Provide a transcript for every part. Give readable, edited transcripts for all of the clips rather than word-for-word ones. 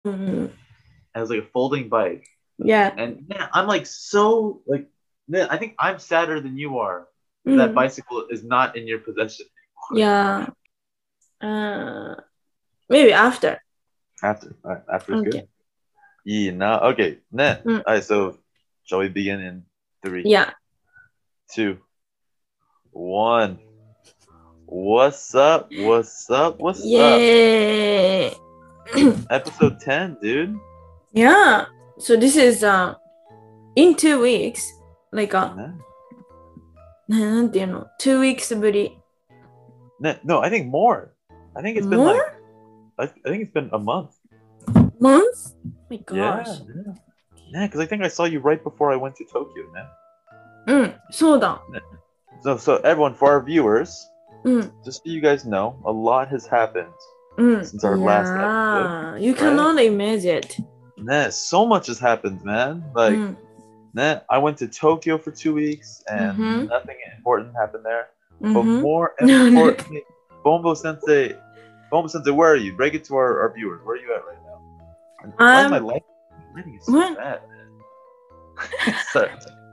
Mm. It has like a folding bike. Yeah. And man, I'm like so like man, I think I'm sadder than you are that that Mm. bicycle is not in your possession anymore. Yeah. Uh, Maybe after. After, all right, after is Okay. good. Yeah, now okay. Nah. Mm. All right, so shall we begin in three, Yeah. 2, 1. What's up? What's up? What's up? Yay. Episode 10, dude. Yeah. So this is in 2 weeks. Like Nah. なんていうの 2 weeks ぶり Nah, no, I think more. I think it's been more like I think it's been a month. months? Oh my Yeah, gosh. yeah. Yeah, because I think I saw you right before I went to Tokyo, man. うんそうだ So everyone, for our viewers, うん just so you guys know, a lot has happened うん since our last episode. Yeah you cannot imagine it Nah, so much has happened, man. う Like, ん nah, I went to Tokyo for 2 weeks and うん nothing important happened there. う But ん more importantly, Bombo Sensei, where are you? Break it to our viewers. Where are you at right now? And why is my lighting is so what? bad, man? Sorry.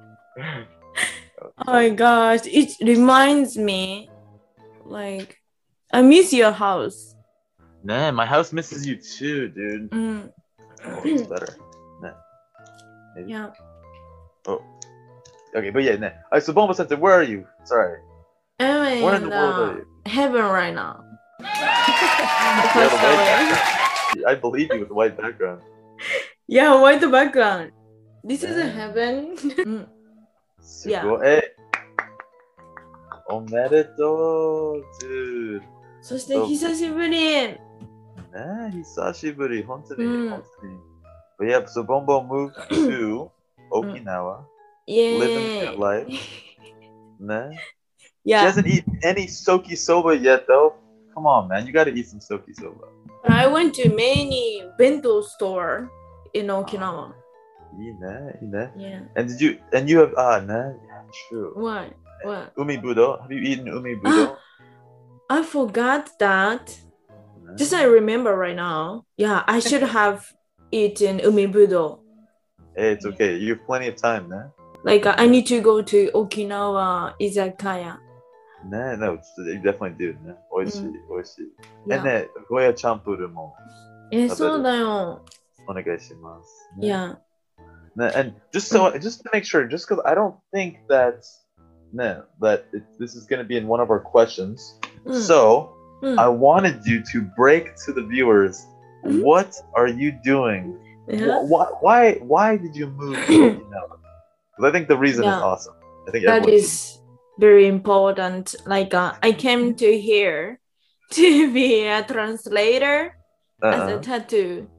Oh my gosh it reminds me like I miss your house Man, my house misses you too, dude. うん Oh, it's better. Nah. Maybe. Yeah Oh. Okay, but yeah, nah. Alright, so Bombo Sensei, where are you? Sorry. I'm Where in in the world are you? heaven right now You have a white background. I believe you with the white background. Yeah white background This is a Yeah. heaven うん Yeah. すごい。え、おめでとう、dude. そして久しぶりねえ、久しぶり、本当に、 うん本当に。But yeah, so Bombo moved to Okinawa, イエ living that ーイ life. ね She Yeah hasn't eaten any soki soba yet, though. Come on, man, you gotta eat some soki soba. I went to many bento store in Okinawa いいね、いいね。 Yeah And you have, yeah, true. What? What? Umi budo? Have you eaten umi budo? I forgot that Just I remember right now Yeah I should have eaten umibudo Hey, it's okay. You have plenty of time, man. Like I need to go to Okinawa izakaya No, you definitely do. ね、美味しい、美味しい。 Yeah ね、ゴーヤチャンプルもそうだよお願いします。ね Yeah ね and just to make sure, just because I don't think that this is going to be in one of our questions. So I wanted you to break to the viewers. What are you doing? Why did you move to Okinawa? Because I think the reason is awesome. I think that is very important. Like I came to here to be a translator as a tattoo.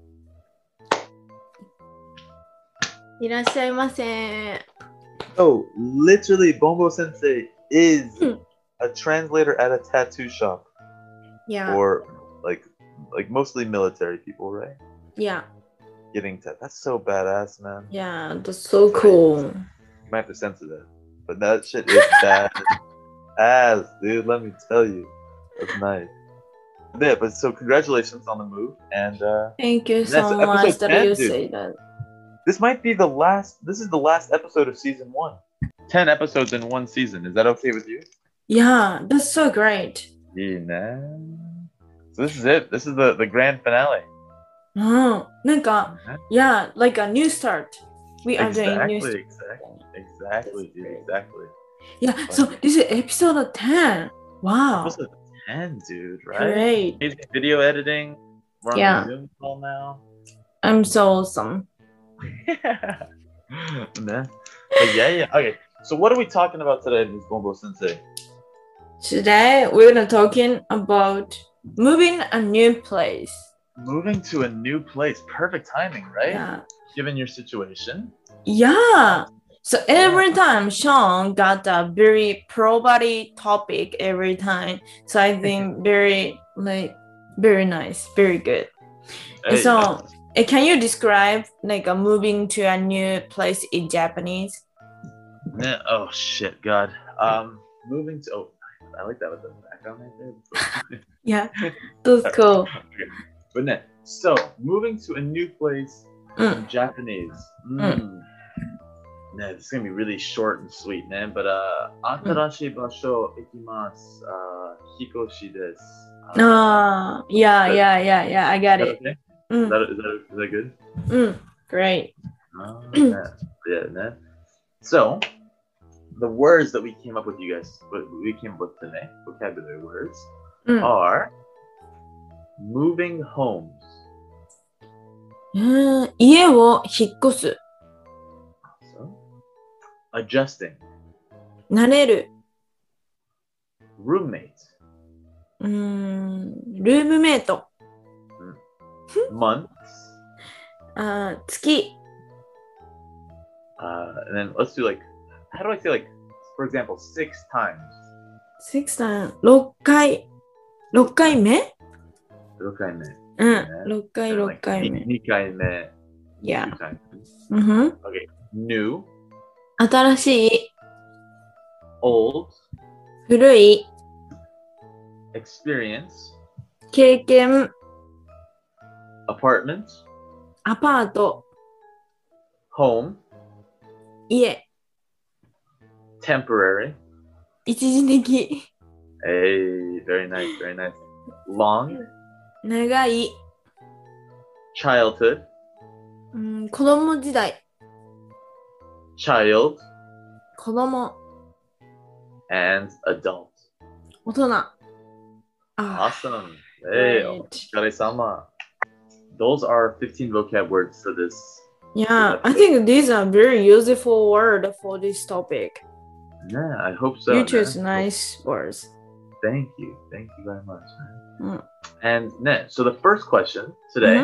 いらっしゃいませ。 Oh, literally, Bombo Sensei is a translator at a tattoo shop. Yeah. For like mostly military people, right? Yeah. Getting that's so badass, man. Yeah, that's so cool. You might have to censor that, but that shit is bad ass, dude. Let me tell you, that's nice. Yeah, but so congratulations on the move, and thank you so much that you say that. This might be the last. This is the last episode of season 1. 10 episodes in one season. Is that okay with you? Yeah, that's so great. Yeah. So this is it. This is the grand finale. Oh, yeah, like a new start. We are doing new start. Exactly, dude, exactly. Yeah, so this is episode 10. Wow. Episode 10, dude, right? Great. Video editing. We're on the Zoom call now. I'm so awesome. Yeah. Okay, so what are we talking about today, Ms. Bombo Sensei? Today, we're going to talking about moving a new place. Moving to a new place. Perfect timing, right? Yeah. Given your situation. Yeah. So every time Sean got a very pro-body topic every time. So I think very nice, very good. Hey, so can you describe like a moving to a new place in Japanese? Oh shit, God. Moving to I like that with the background right there. Yeah, that's cool. But So, moving to a new place in Japanese. This is going to be really short and sweet, man. But, 新しい場所行きます。引っ越しです。 Yeah, I got it. Okay? Is that good? Great. Yeah. So, the words that we came up with today, vocabulary words, are moving homes. 家を引っ越す。 So, adjusting. 慣れる。 Roommate. ルームメイト。 Months. 月。 And then let's do how do I say for example, 6 times? 6 times. 6回。6回目 6回目。 6回目。 2回目。 Yeah. 2 times. Okay. New. 新しい。 Old. 古い。 Experience. 経験。 Apartment. アパート。 Home. 家。 Temporary. 一時的。 Hey, very nice. Long. 長い。 Childhood. 子供時代。 Child. 子供。 And adult. 大人。 Awesome. Hey, o疲れ様. Those are 15 vocab words for this. Yeah, I think these are very useful words for this topic. Yeah, I hope so. You choose nice words. Thank you very much. And so the first question today,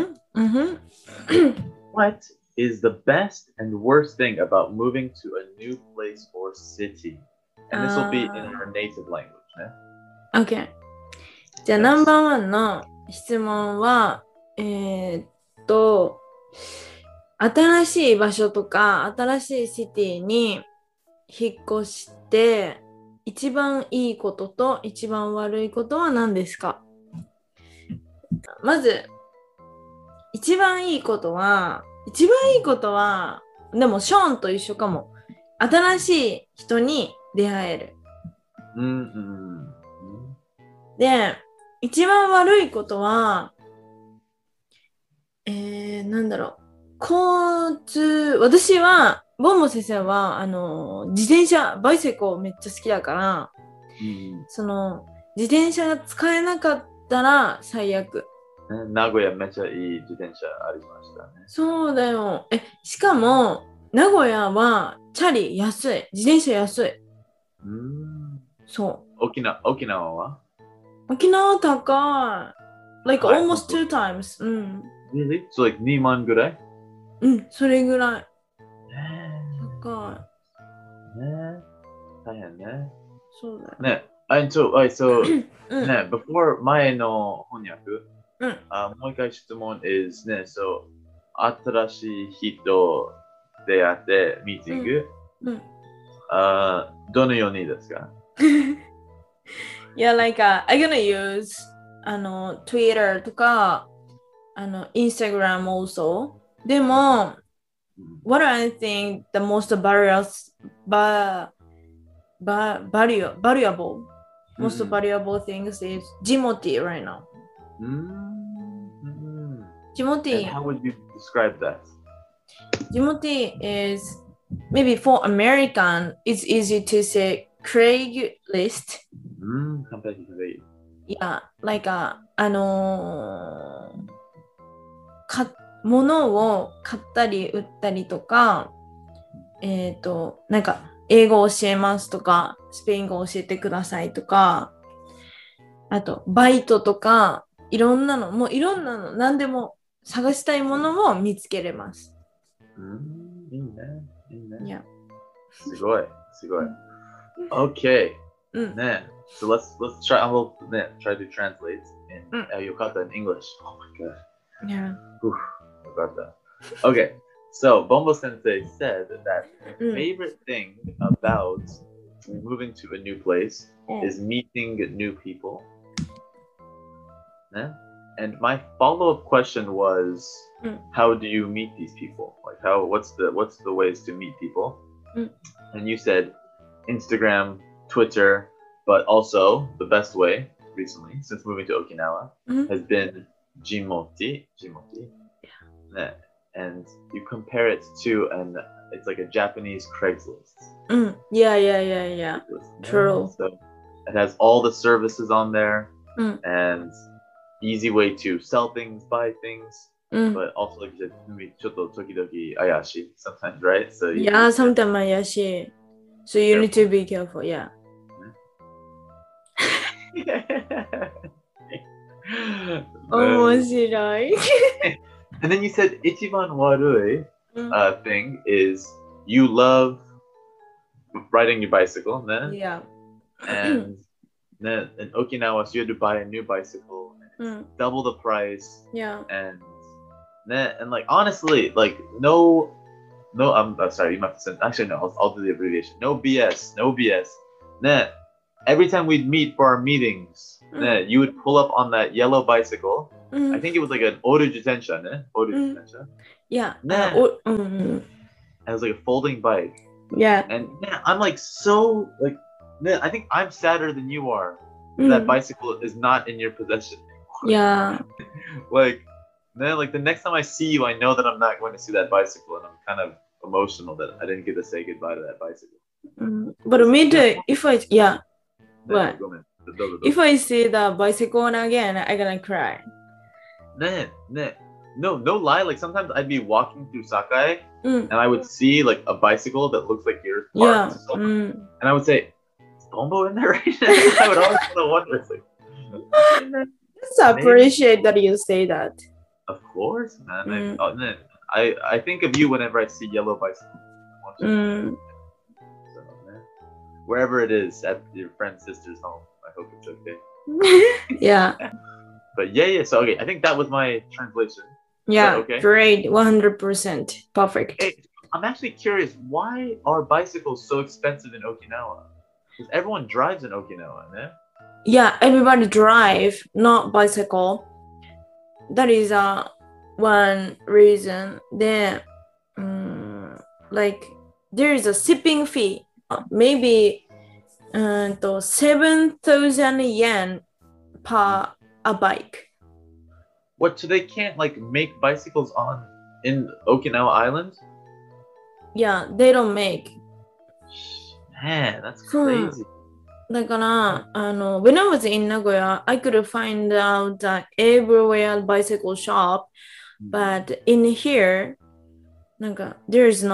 what is the best and worst thing about moving to a new place or city? And this will be in our native language. Okay. じゃあ、ナンバーワンの質問は、新しい場所とか新しいシティに引っ越して一番いいことと一番悪いことは何ですか？まず一番いいことはでもショーンと一緒かも。新しい人に出会える。で、一番悪いことはなんだろう。私はボンボ先生は自転車バイセコめっちゃ好きだから、その自転車が使えなかったら最悪。 名古屋めっちゃいい自転車ありましたね。 そうだよ。しかも名古屋はチャリ安い。自転車安い。そう。 沖縄は？ 沖縄高い。Like almost 2 times. Really? So like 2万ぐらい？ それぐらい。高い。大変ね。 そうだよ。 ね。before 前の翻訳、もう一回質問 is ね、新しい人出会ってミーティング、どのようにですか？ Yeah, like I'm gonna use Twitter とかInstagram also. でも、what I think the most valuable things is Jimoti right now. Jimoti. And how would you describe that? Jimoti is maybe for American, it's easy to say Craigslist. Yeah, like 物を買ったり売ったりとか、なんか英語教えますとか、スペイン語教えてくださいとか、あとバイトとか、いろんなの、何でも探したいものを見つけれます。 いいね。 Yeah. すごい。Okay. ね。So let's try. I will try to translate in Yokata in English. Oh my god. Yeah. About that. Okay. So Bombo Sensei said that favorite thing about moving to a new place is meeting new people. And my follow-up question was, Mm. how do you meet these people? Like, what's the ways to meet people? Mm. And you said Instagram, Twitter, but also the best way recently, since moving to Okinawa, has been Jimoti. Yeah. And you compare it to it's like a Japanese Craigslist. Yeah. True. So it has all the services on there, Mm. and easy way to sell things, buy things, but also like you said, ちょっと時々怪しい sometimes, right? So Yeah, sometimes ayashi. So you need to be careful, yeah. And then you said ichiban warui thing is you love riding your bicycle, né? Yeah. And then in Okinawa, so you had to buy a new bicycle, and it's double the price. Yeah. And like honestly, like no, I'm sorry, you might have to send. Actually, no, I'll do the abbreviation. No BS. Né, every time we'd meet for our meetings, né, you would pull up on that yellow bicycle. I think it was like an oru jitensha, né? Oru jitensha. Yeah. It was like a folding bike. Yeah. And I'm like so like, I think I'm sadder than you are. That bicycle is not in your possession anymore. Yeah. Like the next time I see you, I know that I'm not going to see that bicycle, and I'm kind of emotional that I didn't get to say goodbye to that bicycle. But if I see the bicycle again, I'm gonna cry. No lie. Like sometimes I'd be walking through Sakai, and I would see like a bicycle that looks like yours parked. Yeah. And I would say, "Is Bombo in there right now?" I would always wonder. It's like, I appreciate that you say that. Of course, man. I think of you whenever I see yellow bicycles. So, man, wherever it is at your friend's sister's home, I hope it's okay. Yeah. But yeah. So okay, I think that was my translation. Yeah. Okay? Great. 100%. Perfect. Hey, I'm actually curious. Why are bicycles so expensive in Okinawa? Because everyone drives in Okinawa, né? Yeah, everybody drive, not bicycle. That is one reason. Then, like there is a shipping fee, maybe 7,000 yen per a bike. What? So they can't like make bicycles in Okinawa Island? Yeah, they don't make. Man, that's crazy. だからwhen I was in Nagoya, I could find out everywhere bicycle shop, but in here, there is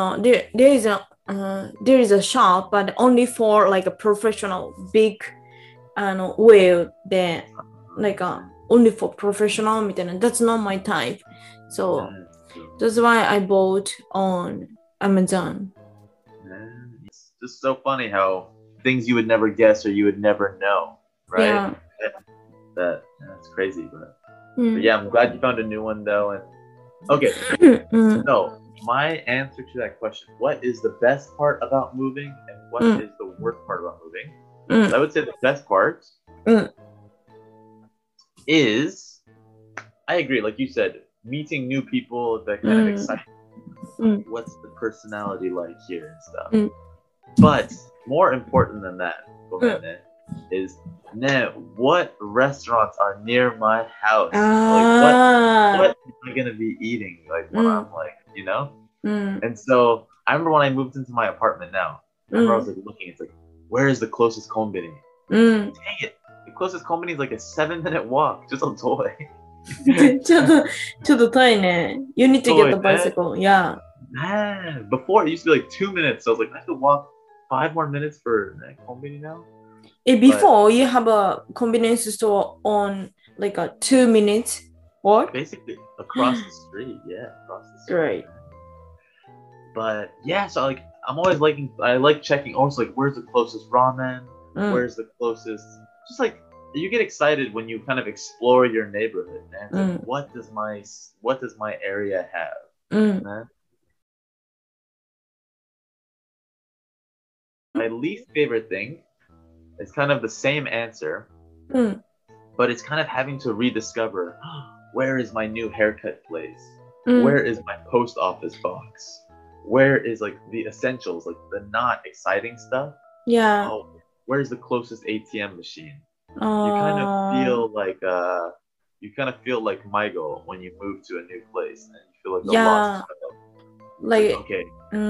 a shop, but only for like a professional big wheel. Then only for professional. That's not my type, so that's why I bought on Amazon. It's just so funny how things you would never guess or you would never know, right? Yeah. That's crazy, but yeah, I'm glad you found a new one though. And okay, so my answer to that question: what is the best part about moving, and what is the worst part about moving? So I would say the best part is, I agree, like you said, meeting new people that kind of excite you. What's the personality like here and stuff? But more important than that, is what restaurants are near my house? Like what am I gonna be eating? Like when I'm like, you know? And so I remember when I moved into my apartment now, I was like looking, it's like, where is the closest konbini? Dang it. The closest konbini is like a 7-minute walk, just a toy. ちょっと遠いね. You need to get the bicycle, yeah. Man, before it used to be like 2 minutes, so I was like, I have to walk 5 more minutes for konbini now. Before you have a convenience store on like a 2 minutes walk? Basically across the street, across the street. Great. But yeah, so like I like checking also like where's the closest ramen, where's the closest, just like you get excited when you kind of explore your neighborhood, man. Like, what does my area have? Man? My least favorite thing is kind of the same answer, but but it's kind of having to rediscover where is my new haircut place? Where is my post office box? Where is like the essentials, like the not exciting stuff? Yeah. Oh, where's the closest ATM machine? You kind of feel like Michael when you move to a new place and you feel like a lost child. Like okay.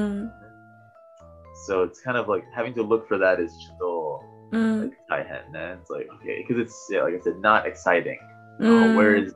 So it's kind of like having to look for that is still like it's like okay, because it's like I said, not exciting. Where's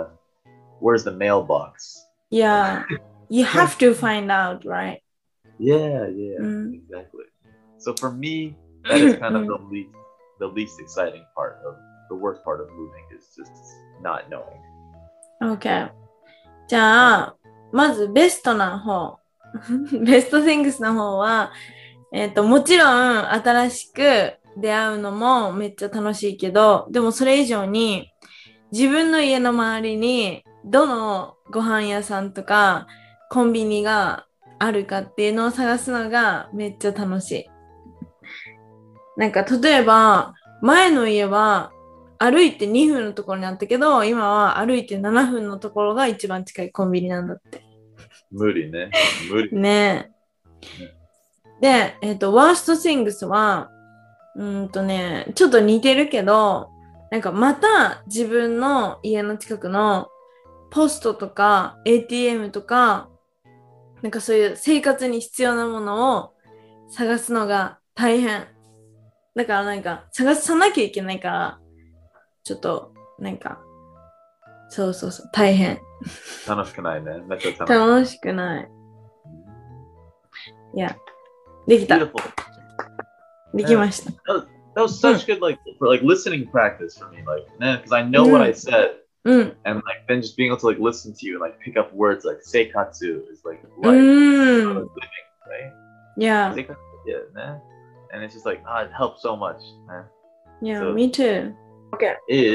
the mailbox? Yeah, you have to find out, right? Yeah, exactly. So for me, that is kind of the least exciting part of the worst part of moving is just not knowing. Okay. じゃあ、まずベストな方、ベストシングスの方は、もちろん新しく出会うのもめっちゃ楽しいけど、でもそれ以上に自分の家の周りにどのご飯屋さんとかコンビニがあるかっていうのを探すのがめっちゃ楽しい。なんか例えば前の家は歩いて2分のところにあったけど、今は歩いて7分のところが一番近いコンビニなんだって。 無理ね。 ねえ。で、ワーストシングスは、ちょっと似てるけど、なんかまた自分の家の近くのポストとか ATM とか、なんかそういう生活に必要なものを探すのが大変。だからなんか探さなきゃいけないから、ちょっとなんか、そう、大変。 楽しくないね。めっちゃ楽しくない。いや、できた。できました。 That was such good for listening practice for me, because I know what I said, and then just being able to listen to you and pick up words like seikatsu is living, right? Yeah. Seikatsu, yeah, and it's just it helps so much, man. Yeah, so, me too. Okay.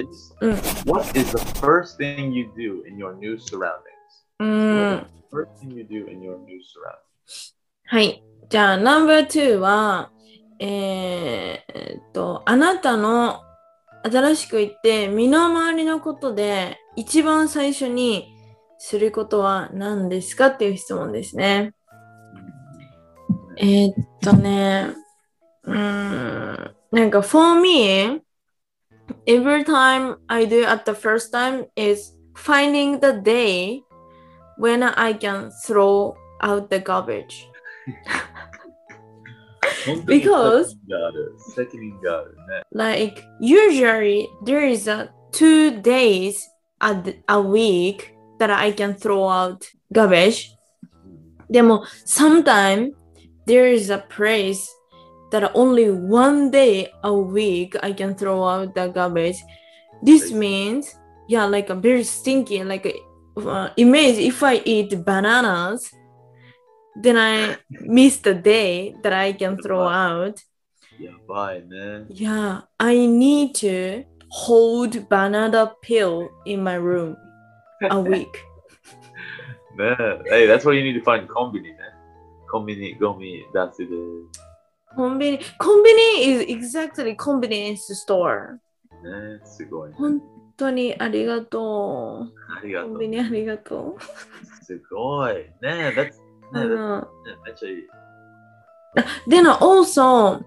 What is the first thing you do in your new surroundings? What is the first thing you do in your new surroundings? はい。じゃあ、No.2 は、あなたの新しく言って身の回りのことで一番最初にすることは何ですかっていう質問ですね。なんか for me, every time I do at the first time is finding the day when I can throw out the garbage. Because usually there is 2 days a week that I can throw out garbage. でも sometimes there is a place that only 1 day a week I can throw out the garbage. This means a very stinky image if I eat bananas, then I miss the day that I can throw out. Yeah, I need to hold banana peel in my room a week. Hey, that's why you need to find kombini, man. Kombini, gomi, that's it. Kombini is exactly convenience store. ね、すごい、ね。 本当にありがとう。コンビニありがとう。 すごい。ね、that'sめっちゃいい。 Then also,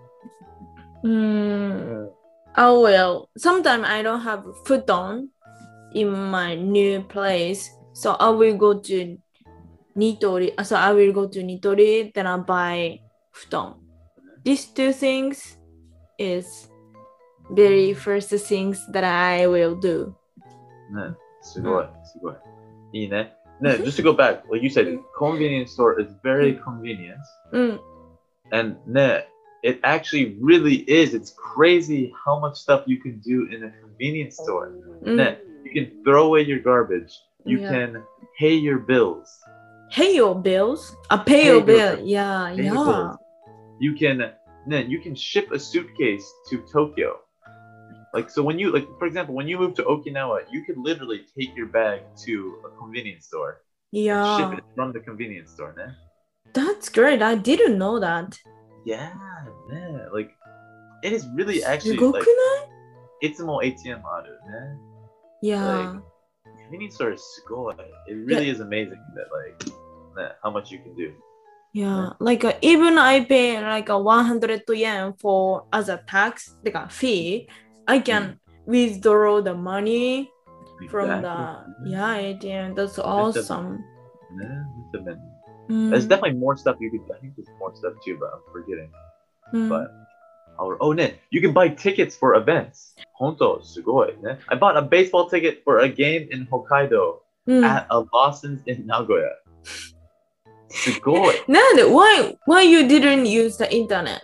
sometimes I don't have futon in my new place, so I will go to Nitori. So I will go to Nitori, then I buy futon. These 2 things is very first things that I will do. ね、すごい。いいね。Just to go back, like you said, convenience store is very convenient. And it actually really is. It's crazy how much stuff you can do in a convenience store. You can throw away your garbage. You can pay your bills. Pay your bills? Pay your bill. Yeah. You can ship a suitcase to Tokyo. So when you for example, when you move to Okinawa, you could literally take your bag to a convenience store. Yeah. Ship it from the convenience store, ne? That's great. I didn't know that. Yeah, it is really actually いつも ATM あるね。 Yeah. Convenience store is すごい。It really is amazing that how much you can do. Yeah, like even I pay like a 100 yen for as a tax, like a fee, I can withdraw the money from the ATM. That's awesome. There's definitely more stuff you could. I think there's more stuff too, but I'm forgetting. But you can buy tickets for events. 本当すごいね。I bought a baseball ticket for a game in Hokkaido at a Lawson's in Nagoya. すごい。 なんで why you didn't use the internet?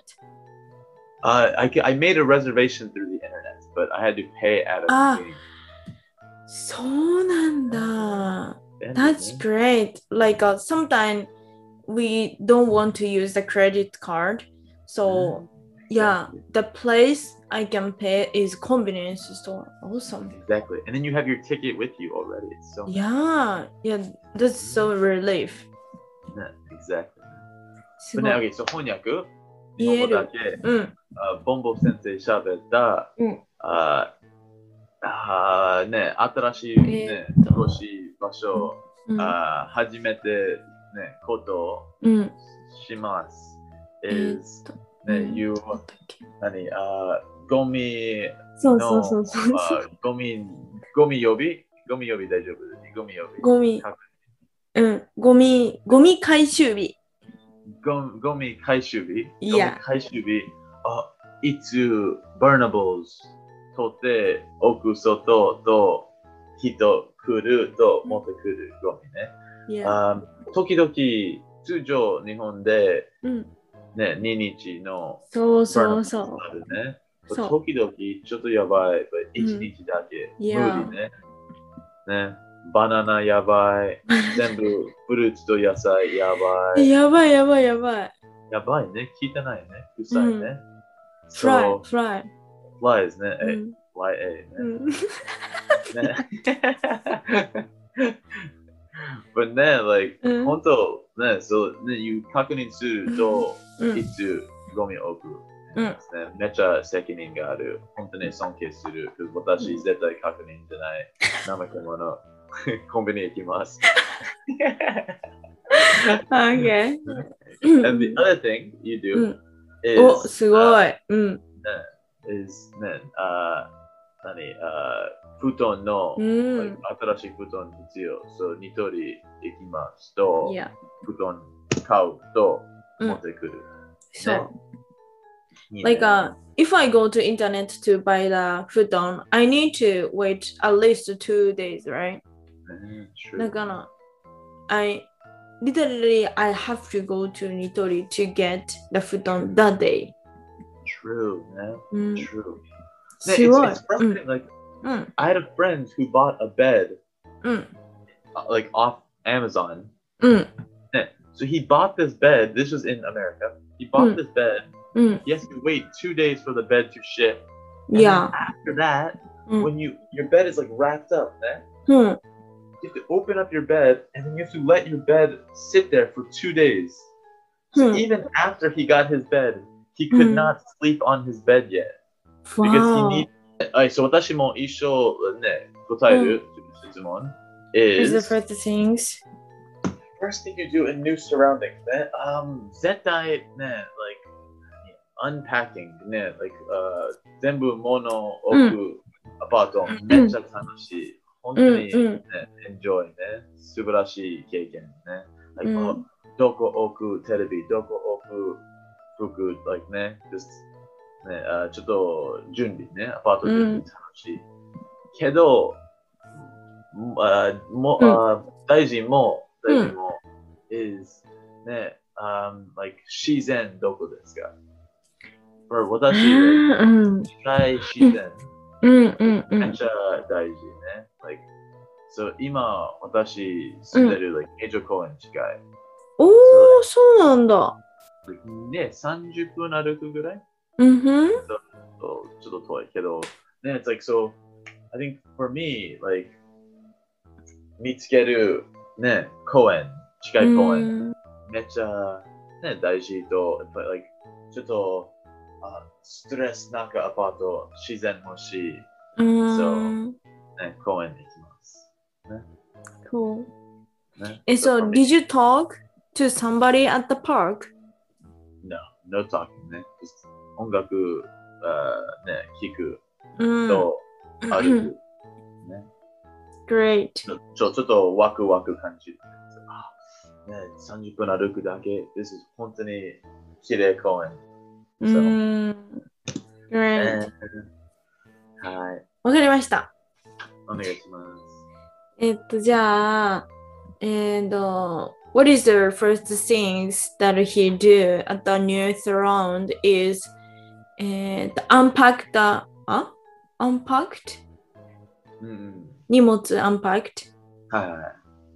I made a reservation through the internet, but I had to pay at a game. そうなんだ。That's great. Like sometimes we don't want to use the credit card. So yeah, the place I can pay is convenience store. Awesome. Exactly. And then you have your ticket with you already. It's so yeah, that's so relief. Exactly. But now, okay, so 翻訳日本語だけ、ボンボ先生喋った、ね、新しいね、過ごし場所、初めてね、ことをします。is ね、you ゴミのゴミ呼び大丈夫ゴミ呼びゴミ回収日ゴミ回収日いつ burnables 取って置く外と人来ると持ってくるゴミね、時々通常日本で、ね、2日のそうあるね。時々ちょっとやばい、1日だけ、無理ね。ね、バナナやばい、全部フルーツと野菜やばい。 やばいやばいね、聞いてないね、臭いね。 fly flies ね、flyね。But ね、本当ね、そうね、確認すると、いつゴミを置く。めっちゃ責任がある。本当に尊敬する。私、絶対確認じゃない。怠け者。コンビニ行きます。 Okay. And the other thing you do is すごい。 is ね、布団の、新しい布団必要。そう、ニトリ行きますと、布団買うと持ってくる。 そう。Like if I go to internet to buy the futon, I need to wait at least 2 days, right? True. I have to go to Nitori to get the futon that day. True, man. True. It's frustrating. Like, I had a friend who bought a bed, off Amazon. So he bought this bed. This was in America. He bought this bed. He has to wait 2 days for the bed to ship. And after that, when your bed is wrapped up, you have to open up your bed and then you have to let your bed sit there for 2 days. So even after he got his bed, he could not sleep on his bed yet. Because he needs. So 私も一緒ね、答える質問 is the first things. First thing you do in new surroundings ね。絶対ね、unpacking ね、全部物を置くアパート、めっちゃ楽しい。本当にね、enjoy ね。素晴らしい経験ね。どこ置くテレビ、どこ置く服、ね、ね、ちょっと準備ね、アパート準備楽しい。けど、大事も is ね、自然どこですか私、自然、めっちゃ大事ね。So 今、私住んでる、名城公園近い。 そうなんだ。 ね、30分歩くぐらいちょっと遠いけど、ね、it's so, I think for me, 見つける、ね、近い公園、めっちゃ、ね、大事と、やっぱり、ちょっと、ストレスなんかアパート、自然欲しい。 うーそう、 ん。 ね、公園に行きます。ね、 Cool. ね。 And So so, for me, did you talk to somebody at the park? no, no talking ね。Just 音楽、ね、聞くうん。 と歩く。ね。 Great. ちょっとワクワク感じる。あね、30分歩くだけ。This is 本当に綺麗公園。 う So, ーん。Great. はい。 わかりました。 お願いします。 じゃあ、what is the first things that he do at the new throne is, unpack the, unpacked? うんうん。 荷物 unpacked. はいはい。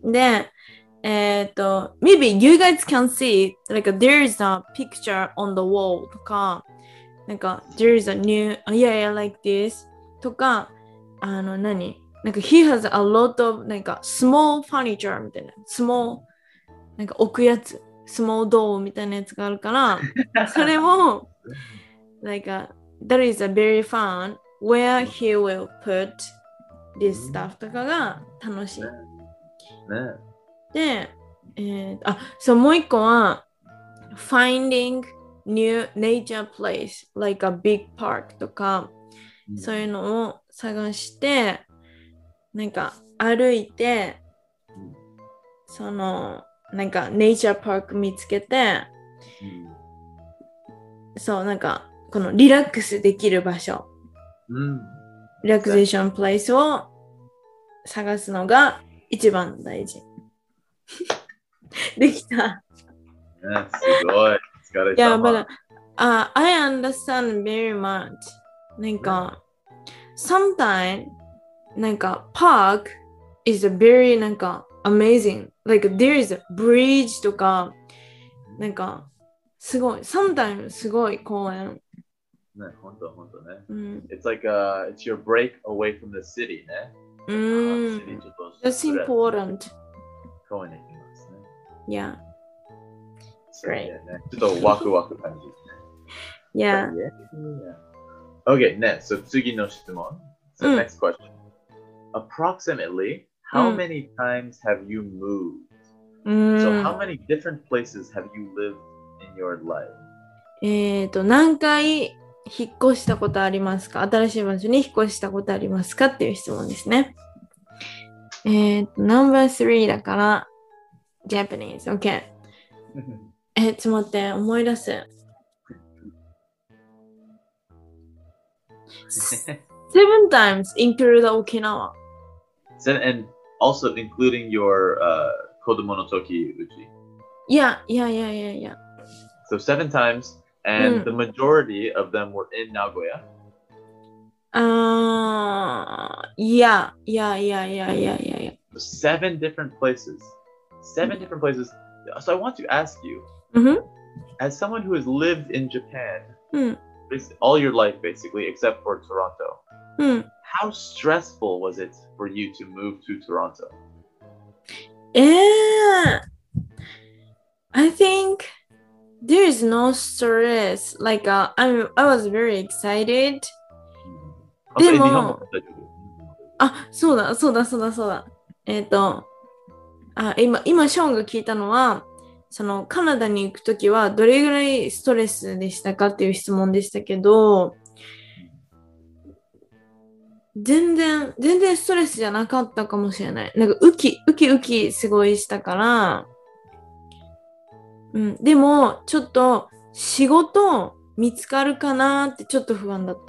で、maybe you guys can see, like, there is a picture on the wall とか、なんか、there is a new, yeah, like this とか、なんか、he has a lot of, なんか、small furniture みたいな、small、なんか置くやつ、small door みたいなやつがあるから、それも、like, that is a very fun where he will put this stuff とかが楽しい。 ね。 で、そう、もう一個は、finding new nature place, like a big park とか、そういうのを探して、なんか歩いて、その、なんかネイチャーパーク見つけて、そう、なんか、このリラックスできる場所、リラクゼーションプレイスを探すのが一番大事。できた。 すごい。疲れ様。 Yeah, but I understand very much. なんか、sometimes, なんか、park is a very なんか amazing. Like there is a bridge とか、なんか、すごい。sometimes すごい公園。 ね、本当本当ね。 うん。 It's like it's your break away from the city ね。 That's important. 公園に行きますね。 Yeah. そうね。ちょっとワクワク感じるね。 Yeah. Okay, ね。So 次の質問。So next question. Approximately, how many times have you moved? So how many different places have you lived in your life? 何回引っ越したことありますか？新しい場所に引っ越したことありますかっていう質問ですね。No.3 だから、Japanese. OK. ちょっと待って、思い出す。7 times include Okinawa. And also including your Kodomo no Toki Uchi. Yeah. So 7 times, and the majority of them were in Nagoya. Yeah. 7 different places. 7 different places. So I want to ask you, as someone who has lived in Japan all your life, basically, except for Toronto, how stressful was it for you to move to Toronto? I think there is no stress. Like, I was very excited. でも、そうだ。今、ショーンが聞いたのは、そのカナダに行くときはどれぐらいストレスでしたかっていう質問でしたけど、全然ストレスじゃなかったかもしれない。なんかウキすごいしたから、でもちょっと仕事見つかるかなってちょっと不安だった。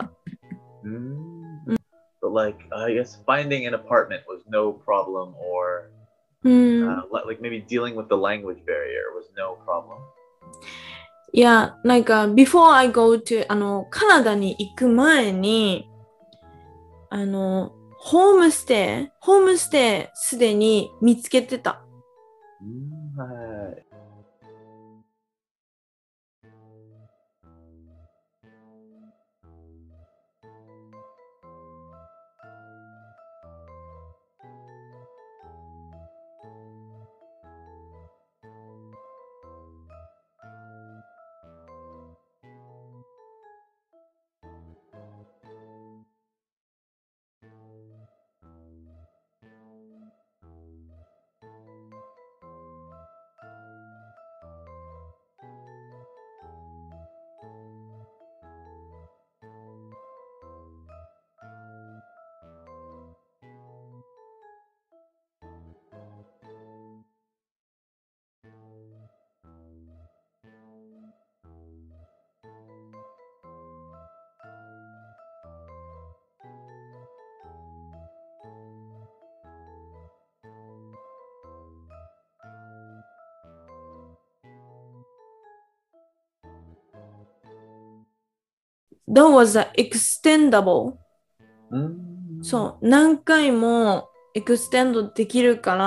But like, I guess finding an apartment was no problem, or like maybe dealing with the language barrier was no problem. いや、なんか、before I go to カナダに行く前に、ホームステイすでに見つけてた。 はい。 that was a extendable. そう、何回もエクステンドできるから、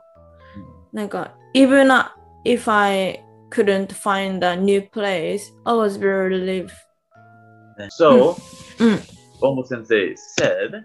なんか、even if I couldn't find a new place, I was very relieved. So, Bombo Sensei said,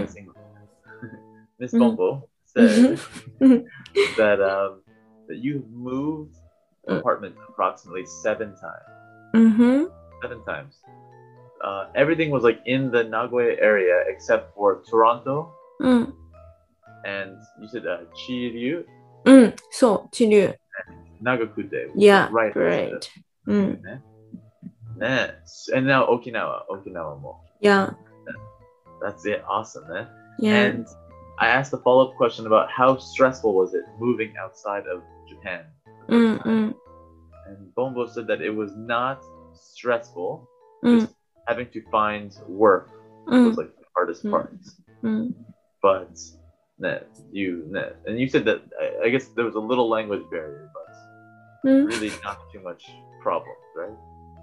Miss Bombo said that you moved apartments approximately 7 times. 7 times. Everything was like in the Nagoya area except for Toronto. And you said Chiryu. So, Chiryu. Nagakute. Yeah, right. Great. And now Okinawa mo. Yeah. That's it. Awesome, man. Yeah. And I asked a follow-up question about how stressful was it moving outside of Japan. And Bombo said that it was not stressful. Just having to find work was like the hardest part. But and you said that I guess there was a little language barrier, but really not too much problem, right?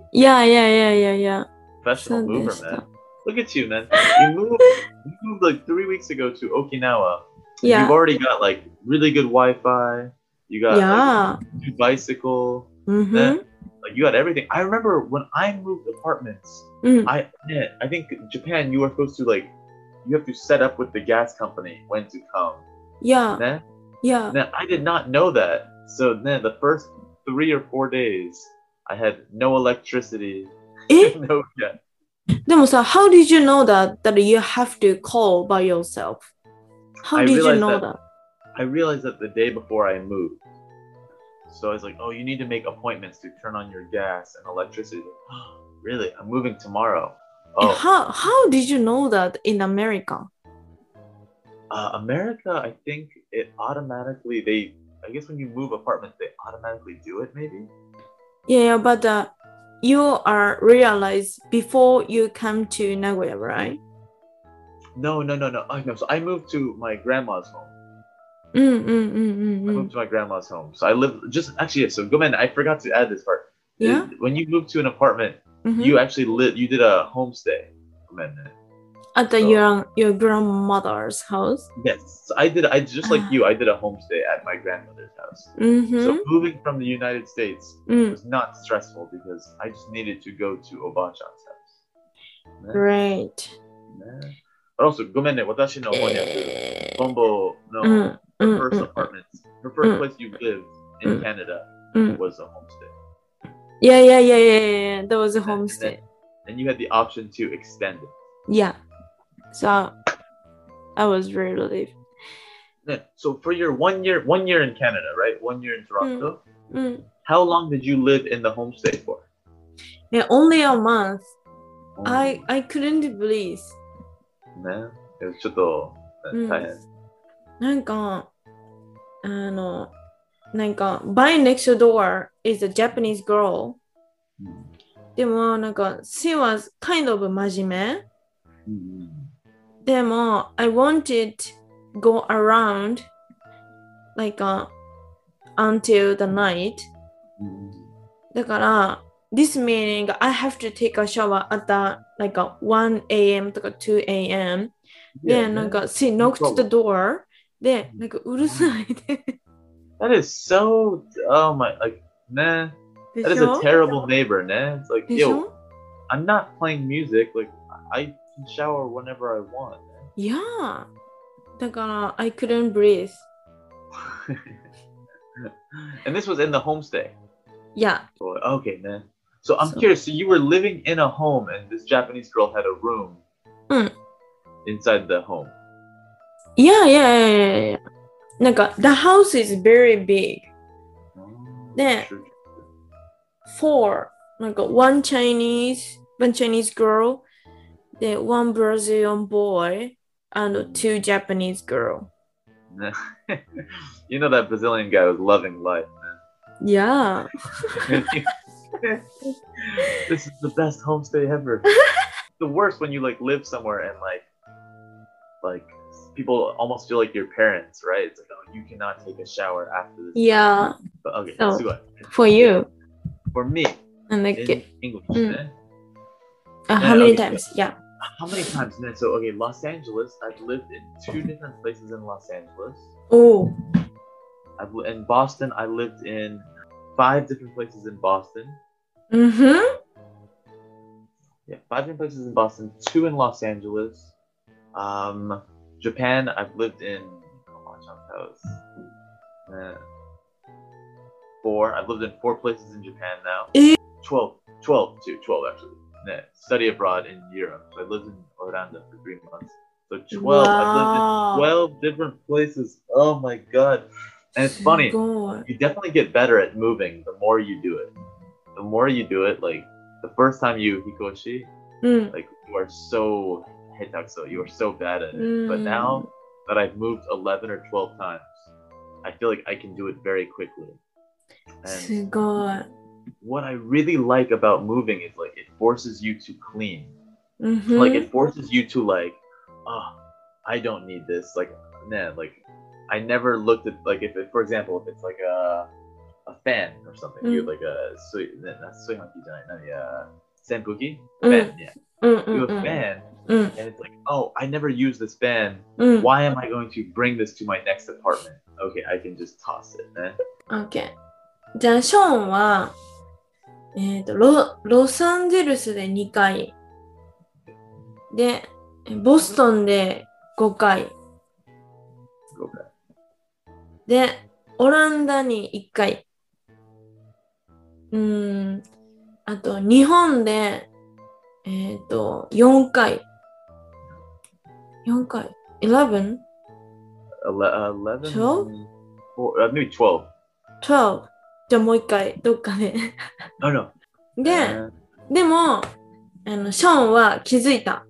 Yeah. Professional mover, man. Look at you, man. You moved like 3 weeks ago to Okinawa. Yeah. You've already got like really good Wi-Fi. You got like a new bicycle. Like you got everything. I remember when I moved apartments. I think Japan, you are supposed to like, you have to set up with the gas company when to come. Yeah. I did not know that. So the first 3 or 4 days, I had no electricity. No gas. でもさ、how did you know that you have to call by yourself? How did you know that? I realized that the day before I moved. So I was like, oh, you need to make appointments to turn on your gas and electricity. Really? I'm moving tomorrow. Oh. How did you know that in America? America, I think it automatically, I guess when you move apartments, they automatically do it, maybe? Yeah, but you are realized before you come to Nagoya, right? No. So I moved to my grandma's home. I moved to my grandma's home. So I live so Gomen, I forgot to add this part. Yeah. When you moved to an apartment, you actually you did a homestay. At your grandmother's house? Yes. So I just like you, I did a homestay at my grandmother's house. So moving from the United States was not stressful because I just needed to go to Obachan's house. Great. But also, Gomen, watashi no honyaku, Bombo no her first apartment, her first place you lived in Canada was a homestay. Yeah. That was a homestay. And you had the option to extend it. Yeah. So I was very relieved. So for your 1 year in Canada, right? 1 year in Toronto. How long did you live in the homestay for? Yeah, only a month. I couldn't breathe. ね、ちょっと大変。 なんかby next door is a Japanese girl. でもshe was kind of 真面目。でもI wanted go around until the night. だから this meaning I have to take a shower at the 1 a.m. とか2 a.m. でshe knocked the door でうるさいで。 That is so that is a terrible neighbor, né? It's like, yo, I'm not playing music. Like, I can shower whenever I want. Yeah. だから I couldn't breathe. And this was in the homestay. Yeah. Okay, man. So I'm curious. So you were living in a home, and this Japanese girl had a room inside the home. Yeah. The house is very big. Then one Chinese girl, then one Brazilian boy, and 2 Japanese girl. You know that Brazilian guy was loving life, man. Yeah. This is the best homestay ever. The worst when you live somewhere and people almost feel like your parents, right? It's like, oh, you cannot take a shower after this. Yeah. But, okay, so, for you. For me, in English, How many times? Yeah. How many times, man? So, okay, Los Angeles. I've lived in 2 different places in Los Angeles. Oh. In Boston, I lived in 5 different places in Boston. Mm-hmm. Yeah, 5 different places in Boston, 2 in Los Angeles. Japan, I've lived in. Uh, 4. I've lived in 4 places in Japan now. 12 actually. Yeah, study abroad in Europe. So I lived in Orlando for 3 months. So 12. Wow. I've lived in 12 different places. Oh my god. And it's funny. You definitely get better at moving the more you do it. The more you do it, like the first time you hikoshi, like you are so hitakuso, you are so bad at it. But now that I've moved 11 or 12 times, I feel like I can do it very quickly. And what I really like about moving is like it forces you to clean. Like it forces you to like, oh, I don't need this. Like, man, like I never looked at like if it, for example, if it's like a fan or something, you have like a senpuki fan, yeah. You have a fan, and it's like, oh, I never use this fan. Why am I going to bring this to my next apartment? Okay, I can just toss it, man. Okay. じゃあショーンはロサンゼルスで2回でボストンで5回でオランダに1回あと日本で4回 11? 11? Maybe 12. 12じゃあもう1回どっかで Oh no. でもショーンは気づいた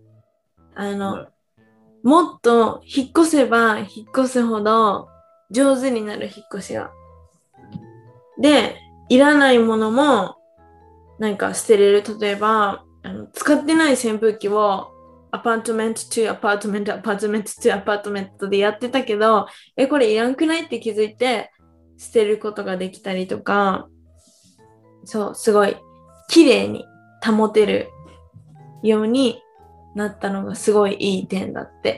もっと引っ越せば引っ越すほど上手になる引っ越しがでいらないものもなんか捨てれる例えば使ってない扇風機をアパートメント2アパートメントアパートメント2アパートメントでやってたけどこれいらんくないって気づいて捨てることができたりとかそうすごい綺麗に保てるようになったのがすごいいい点だって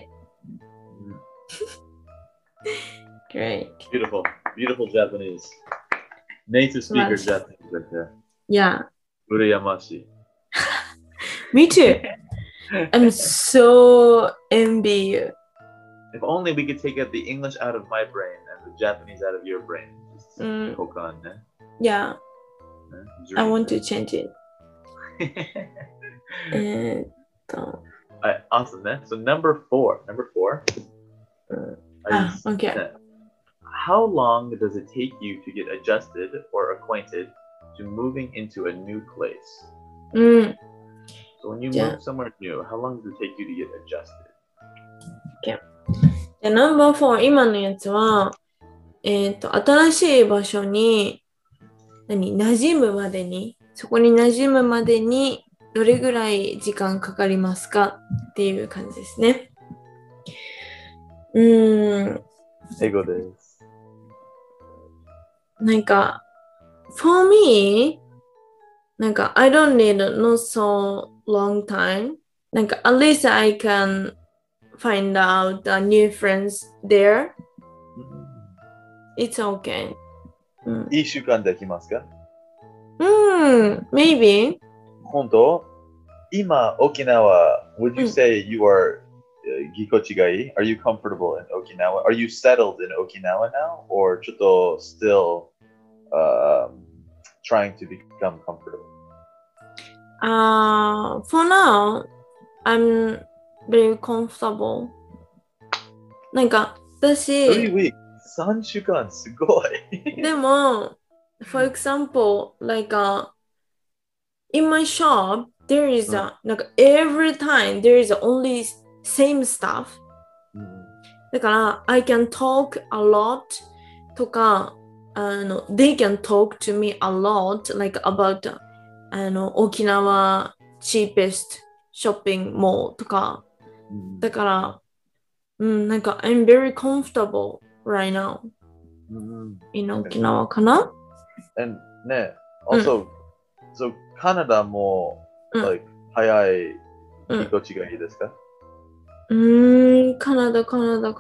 。Great. Beautiful. Beautiful Japanese. Native speaker Japanese right there. Yeah. Urayamashi. Me too. I'm so envy you. If only we could take out the English out of my brain and the Japanese out of your brain. Yeah. I want to change it. Awesome, man. So number four. Okay. How long does it take you to get adjusted or acquainted to moving into a new place? So when you move somewhere new, how long does it take you to get adjusted? Okay. じゃあナンバー4、今のやつは、新しい場所に馴染むまでに、そこに馴染むまでにどれぐらい時間かかりますかっていう感じですね。 英語です。 なんか、for me, なんか I don't need not so long time. なんか at least I can find out the new friends there. It's okay. 1週間できますか ？Maybe. 本当？今、沖縄、would you say you are ぎこちがいい? Are you comfortable in Okinawa? Are you settled in Okinawa now? Or ちょっと still trying to become comfortable? For now, I'm very comfortable. なんか、私 3 weeks, 3週間、すごい。 でも、for example, like in my shop, there is like every time there is only same stuff. だから、I can talk a lot とか、they can talk to me a lot like about 沖縄 cheapest shopping mall とか。だから、なんか I'm very comfortable right now in Okinawa かな ？And ね、also, so Canada も、like 早いぎこちがいいですか？ カナダ。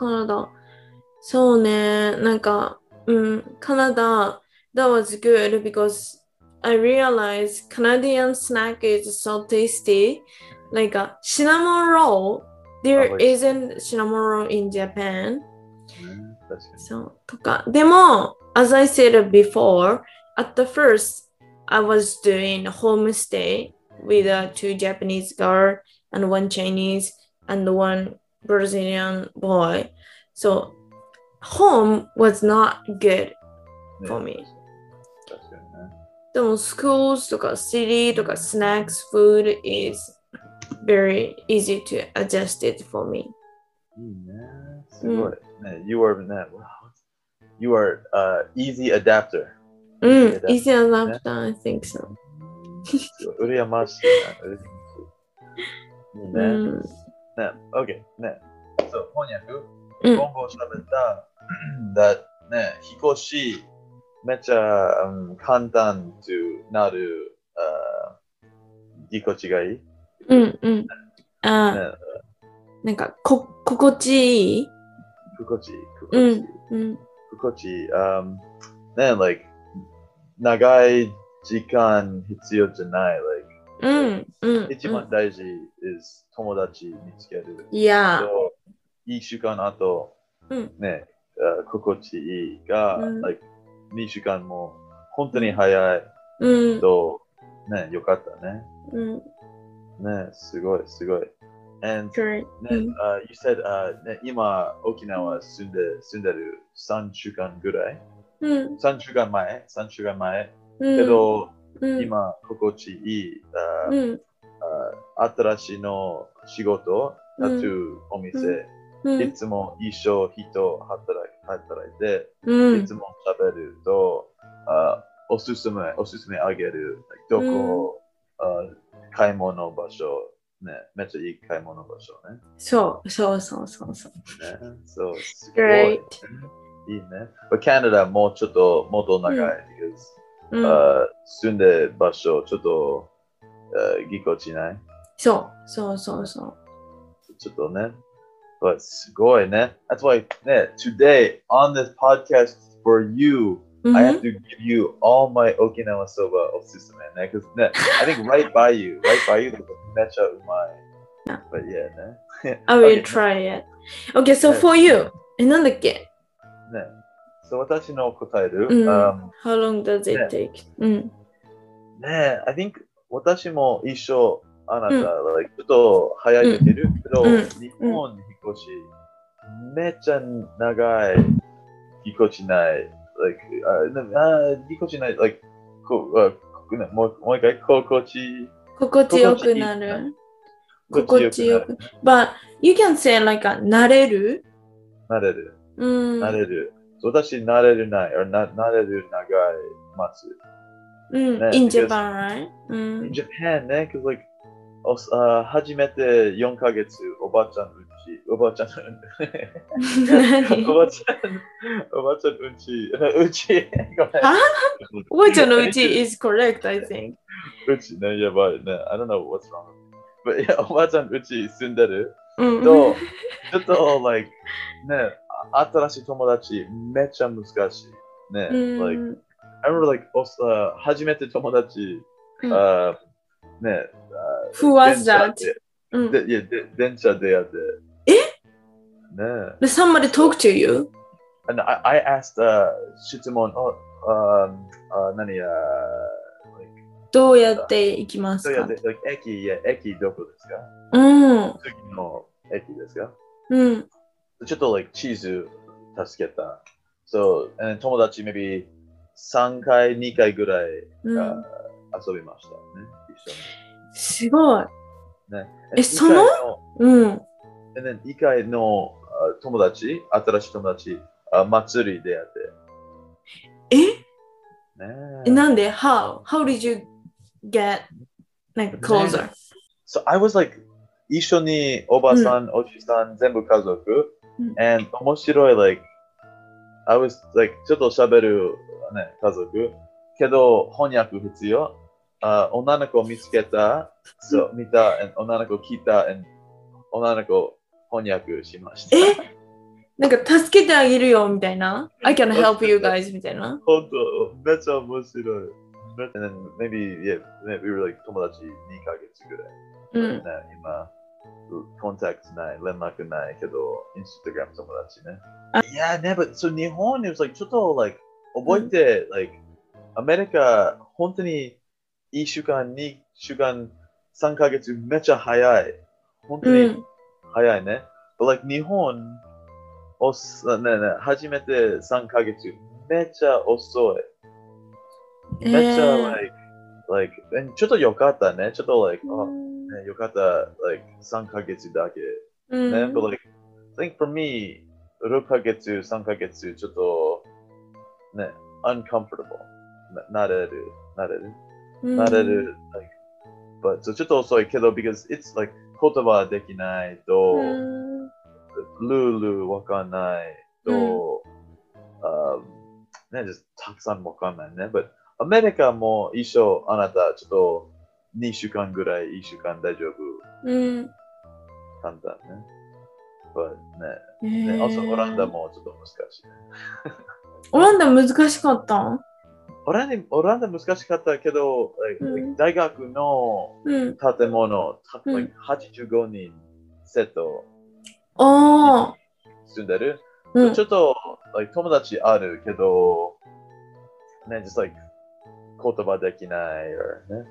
そうね。なんか、カナダ、that was good because I realized Canadian snack is so tasty. Like a cinnamon roll, there isn't cinnamon roll in Japan. 確かに。 そうとか。でも、as I said before, at the first, I was doing homestay with two Japanese girls and one Chinese and one Brazilian boy. So, home was not good for me. 確かにね。 でも、schools とか city とか snacks food is very easy to adjust it for me. いいね。すごい。ね、you are ね、you are easy adapter. Easy adapter, I think so. 羨ましいね。いいね。ね、OK。ね。そう、翻訳。今後喋った、that ね、引っ越し、めっちゃ、簡単となる、ぎこちがいい。 なんか、心地いい心地いい。ね、like、長い時間必要じゃない。一番大事 is 友達見つける。一週間後、ね、心地いいが、like、2週間も本当に早いと、ね、よかったね。ね、すごい。And you said 今沖縄住んでる3週間ぐらい、3週間前けど、今心地いい、新しいの仕事、タトゥーお店、いつも一緒人働いて、いつも喋ると、おすすめあげる、どこ、買い物場所、ね、めっちゃいい買い物場所ね。 そう。 ね、そう、すごい。いいね。カナダもうちょっともっと長い。住んでる場所、ちょっとぎこちない。 そう。 ちょっとね。すごいね。That's why ね、today on this podcast for you, I have to give you all my Okinawa soba おすすめね。Because ね、I think right by you めっちゃうまい。But yeah ね。 I will try it. Okay, so for you. なんだっけね。そう私の答える。 How long does it take? ね、I think 私も一緒あなた、like ちょっと早いけど、日本に引っ越し、めっちゃ長いぎこちない。ぎこちない、like もう一回、心地よくなる。心地よく。But you can say like 慣れる。 私、慣れるない。慣れる長い待つ。 In Japan, right? In Japan ね、because like 初めて4ヶ月、おばあちゃんうんちおばあちゃんのうち is correct, I think. うちね、やばいね。I don't know what's wrong. But yeah, おばあちゃんうち住んでると、ちょっと、like ね、新しい友達めっちゃ難しい。ね、like, I remember like 初めて友達、ね、 Who was that? 電車でやって。 Did somebody talk to you? And I asked 質問、何や、 どうやって行きますか？ 駅どこですか？次の駅ですか？ちょっと like 地図助けた。So, 友達 maybe 3回、2回ぐらい遊びましたね。一緒に。 すごい。 ね、 その 2回の友達、新しい友達、祭りでやって。 なんで How did you get like closer? So I was like 一緒におばさん、おじさん、全部家族。and 面白い like I was like ちょっと喋る、ね、家族。けど翻訳必要。 女の子見つけた、そう、見た、女の子聞いた、女の子翻訳しました。 なんか助けてあげるよみたいな。I can help you guys みたいな。 本当、めっちゃ面白い。And then maybe, yeah, we were like 友達2ヶ月ぐらい。ね、今、コンタクトない、連絡ないけど、インスタグラム友達ね。いや、ね、but so 日本 it was like ちょっと like 覚えて、like アメリカ本当に1週間、2週間、3ヶ月めっちゃ早い。本当に早いね。But like 日本、初めて3ヶ月めっちゃ遅い。めっちゃ、like, ちょっとよかったね。ちょっと、like, ね、よかった、like, 3ヶ月だけ。ね、but, like, I think for me, 6ヶ月、3ヶ月、ちょっと、ね、uncomfortable。慣れる。like, but, so ちょっと遅いけど、because it's, like, 言葉できないと、ルールわかんないと、ね、たくさんわかんないね。But アメリカも一緒、あなたちょっと2週間ぐらい、1週間大丈夫。簡単ね。But ね、also オランダもちょっと難しい。 オランダ難しかったオランダ難しかったけど、大学の建物、85人セット住んでる。ちょっと、友達あるけど、ね、just like 言葉できない、ね。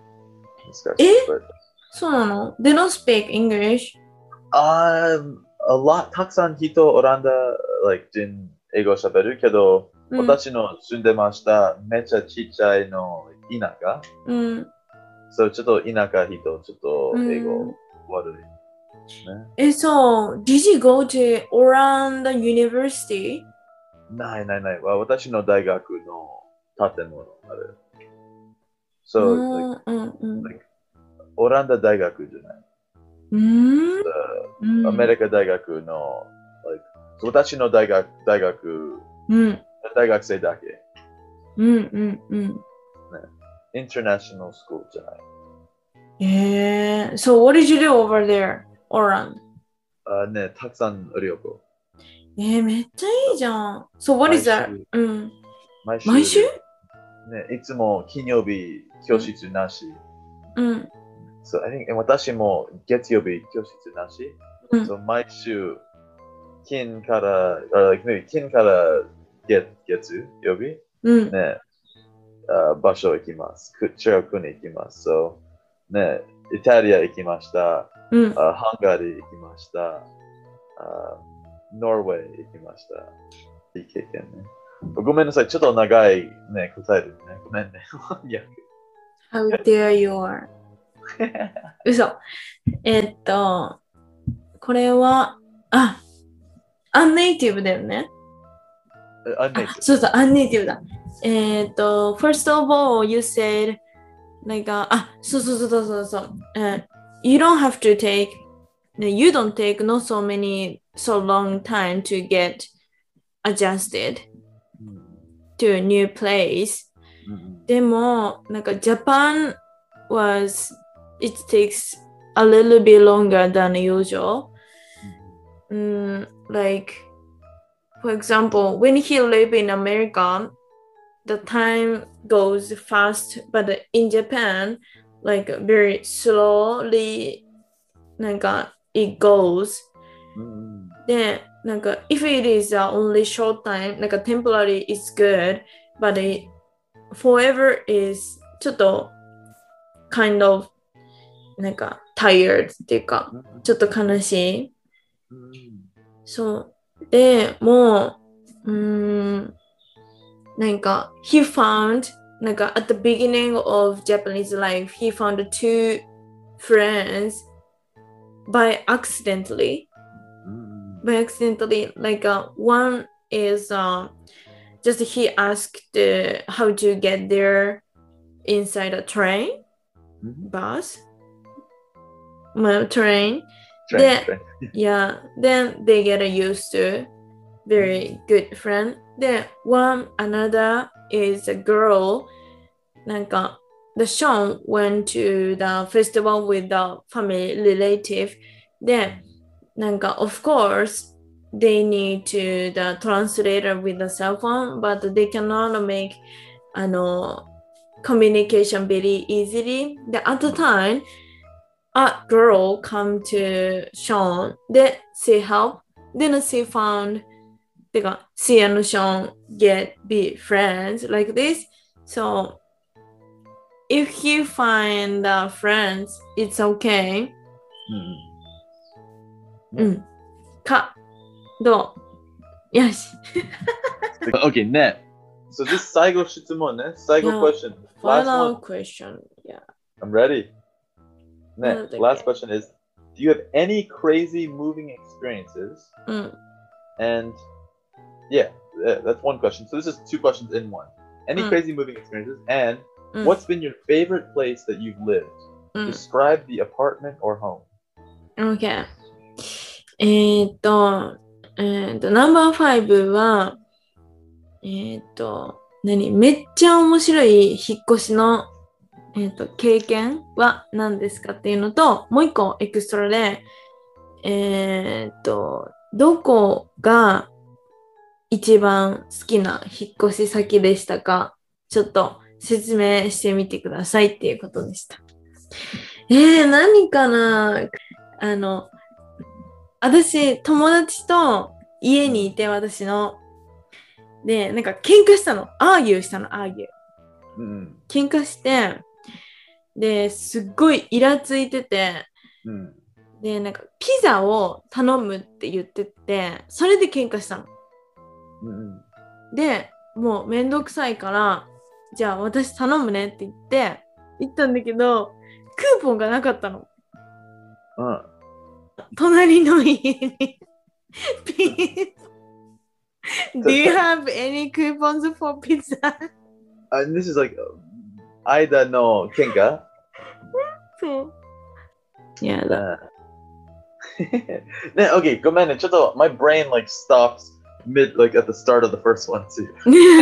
そうなの ?They don't speak English? A lot たくさん人オランダ、人英語喋るけど、私の住んでました、めっちゃちっちゃいの田舎。そうちょっと田舎人、ちょっと英語悪い。 So, did you go to Oranda University? ない。私の大学の建物ある。So,オランダ大学じゃない。アメリカ大学の、私の大学、大学生だけ。International school じゃない。 So what did you do over there, Oran? ね、たくさん旅行。 めっちゃいいじゃん。So what is that? 毎週ね、いつも金曜日教室なし。So I think 私も月曜日教室なし。So 毎週金から月曜日、ね、場所行きます。中学に行きます。So ね、イタリア行きました。ハンガリー行きました。ノルウェー行きました。いい経験ね。ごめんなさい、ちょっと長いね、答えるね。ごめんね。 How dare you are. 嘘。これは、アンネイティブだよね。そうそう、アンネイティブだ。First of all, you said,そう。You don't have to take, you don't take not so long time to get adjusted to a new place. でも、Japan was, it takes a little bit longer than usual. For example, when he lived in America, the time goes fast, but in Japan, very slowly, it goes. Then, if it is only short time, temporary is good, but forever is ちょっと kind of tired っていうか、ちょっと悲しい。そうでもhe found at the beginning of Japanese life he found two friends by accidentally one is just he asked how to get there inside a train bus train. Then they get used to very good friend. Then another is a girl. the Sean went to the festival with the family relative. Then, なんか of course they need to the translator with the cell phone, but they cannot make communication very easily. Then at the time, a girl come to Sean. Then she help. Then she found, she and Sean be friends like this. So if you find friends, it's okay. か、どう？よし。 Okay, net. So this 最後質問ね。最後 question. Final question. Yeah. I'm ready. Net. Last question is, do you have any crazy moving experiences? And yeah, that's one question. So this is two questions in one. Any crazy moving experiences? And what's been your favorite place that you've lived? Describe the apartment or home. Okay. ナンバー5は、めっちゃ面白い引っ越しの、経験は何ですかっていうのと、もう一個エクストラで、どこが一番好きな引っ越し先でしたか？ちょっと説明してみてくださいっていうことでした。何かな？私、友達と家にいて、私の。で、なんか喧嘩したの。アーギューしたの、アーギュー。喧嘩して、で、すっごいイラついてて、で、なんかピザを頼むって言ってて、それで喧嘩したの。で、もうめんどくさいから、じゃあ私頼むねって言ったんだけど、クーポンがなかったの。隣の家にDo you have any coupons for pizza? And this is like Aida no kenka. そう。やだ。 ね、okay, ごめんね。ちょっと my brain like stops mid like at the start of the first one too.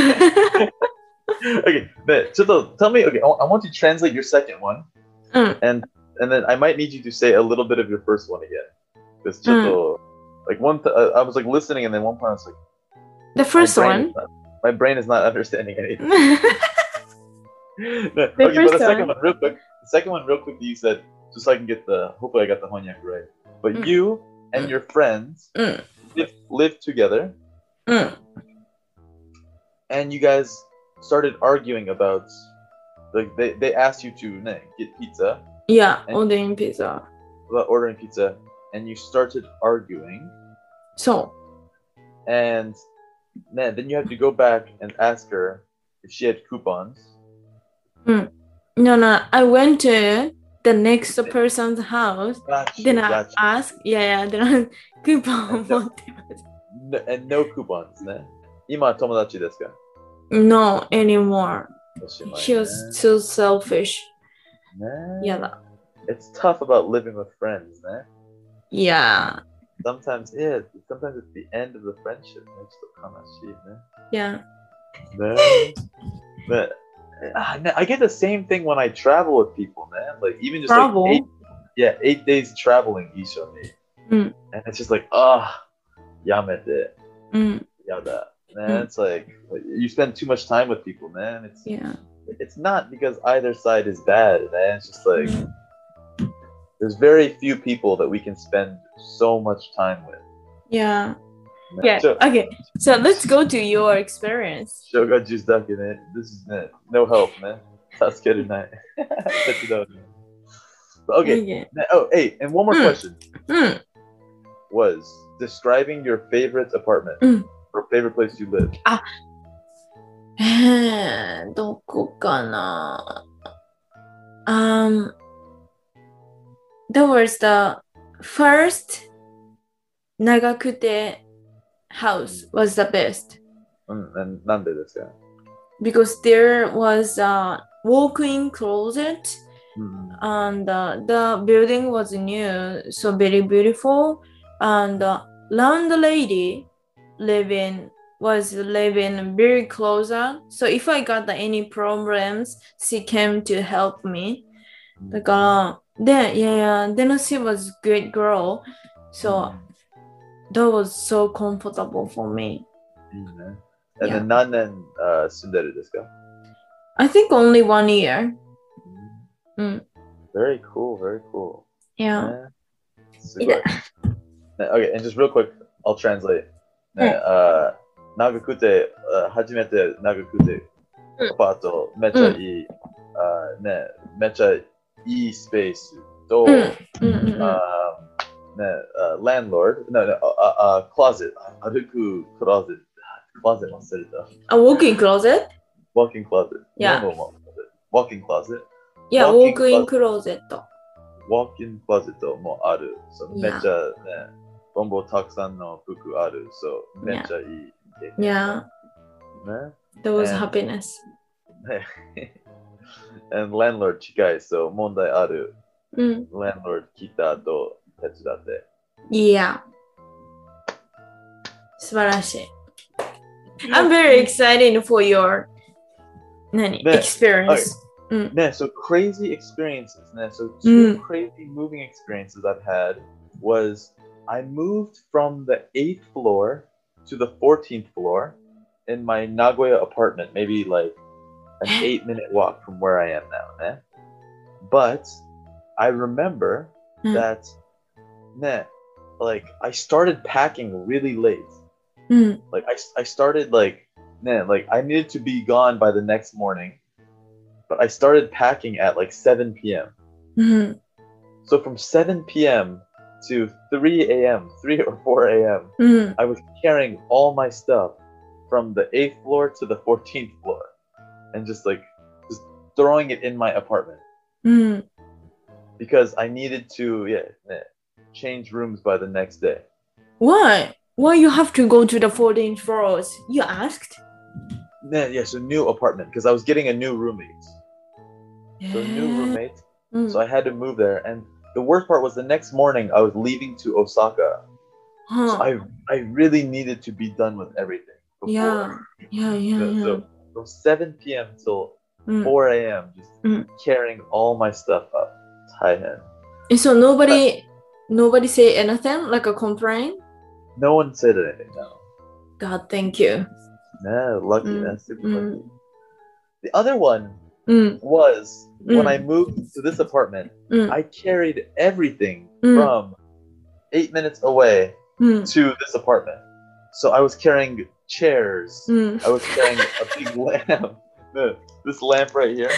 Okay, ね、ちょっと tell me, okay, I want you to translate your second one. And then I might need you to say a little bit of your first one again. Because ちょっとlike I was like listening and then one point I was like The first one? My brain is not understanding anything. The okay, first but the second one. one real quick. The second one real quick you said, just so I can get hopefully I got the Honyak right. But you and your friends lived together. And you guys started arguing about, like they asked you to get pizza. Yeah, ordering pizza. About ordering pizza. And you started arguing. So. And then you have to go back and ask her if she had coupons. No, I went to the next person's house. Then I asked, then I coupon. And no coupons, ne? 今友達ですか? No anymore. She was too selfish. Yeah. It's tough about living with friends, ne? Yeah. Sometimes it's the end of the friendship. Yeah. But I get the same thing when I travel with people, man. Like even just travel? like 8 days traveling, and it's just like, yamete, yada. Man, it's like you spend too much time with people, man. It's not because either side is bad, man. It's just like there's very few people that we can spend so much time with. Yeah. Yeah. Okay. So let's go to your experience. Shoga juice duck in it. This is no help, man. That's good tonight. Okay. Oh, hey, and one more question. Was describing your favorite apartment or favorite place you live. どこかな? That was the first Nagakute house was the best. And なんでですか? Because there was a walk-in closet and the building was new, so very beautiful. And landlady living was living very closer. So if I got any problems, she came to help me. だから、で、then she was great girl. So that was so comfortable for me. いいね。And then 何年住んでるですか? I think only 1 year. Very cool, very cool. Yeah. すごい。Okay, and just real quick, I'll translate. 長くて、初めて長くて、アパートめっちゃいい、めっちゃいいスペースと、landlord, closet, 歩くクローゼット、closet 忘れた。 walk-in closet? Walk-in closet. Yeah. Walk-in closet? Yeah, walk-in closet. Walk-in closet もある。めっちゃボンボたくさんの服ある。めっちゃいい。 Yeah. That was happiness. And landlord 近い。問題ある。landlord 来た後手伝って。 Yeah. 素晴らしい。I'm very excited for your experience. So crazy experiences. So two crazy moving experiences I've had was I moved from the 8th floor to the 14th floor in my Nagoya apartment, maybe like an 8-minute walk from where I am now. But I remember that like I started packing really late. Like I started like I needed to be gone by the next morning, but I started packing at like 7 p.m. So from 7 p.m. to 3 a.m., 3 or 4 a.m., I was carrying all my stuff from the 8th floor to the 14th floor and just throwing it in my apartment because I needed to change rooms by the next day. Why? Why you have to go to the 14th floors? You asked? So new apartment because I was getting a new roommate. So new roommate. So I had to move there. And the worst part was the next morning I was leaving to Osaka. So I really needed to be done with everything before. So from 7 p.m. till 4 a.m. just carrying all my stuff up. So nobody say anything, like a complaint? No one said anything, no. God, thank you. Lucky. That's super lucky. The other one was when I moved to this apartment, I carried everything from 8 minutes away to this apartment. So I was carrying chairs. I was carrying a big lamp. This lamp right here.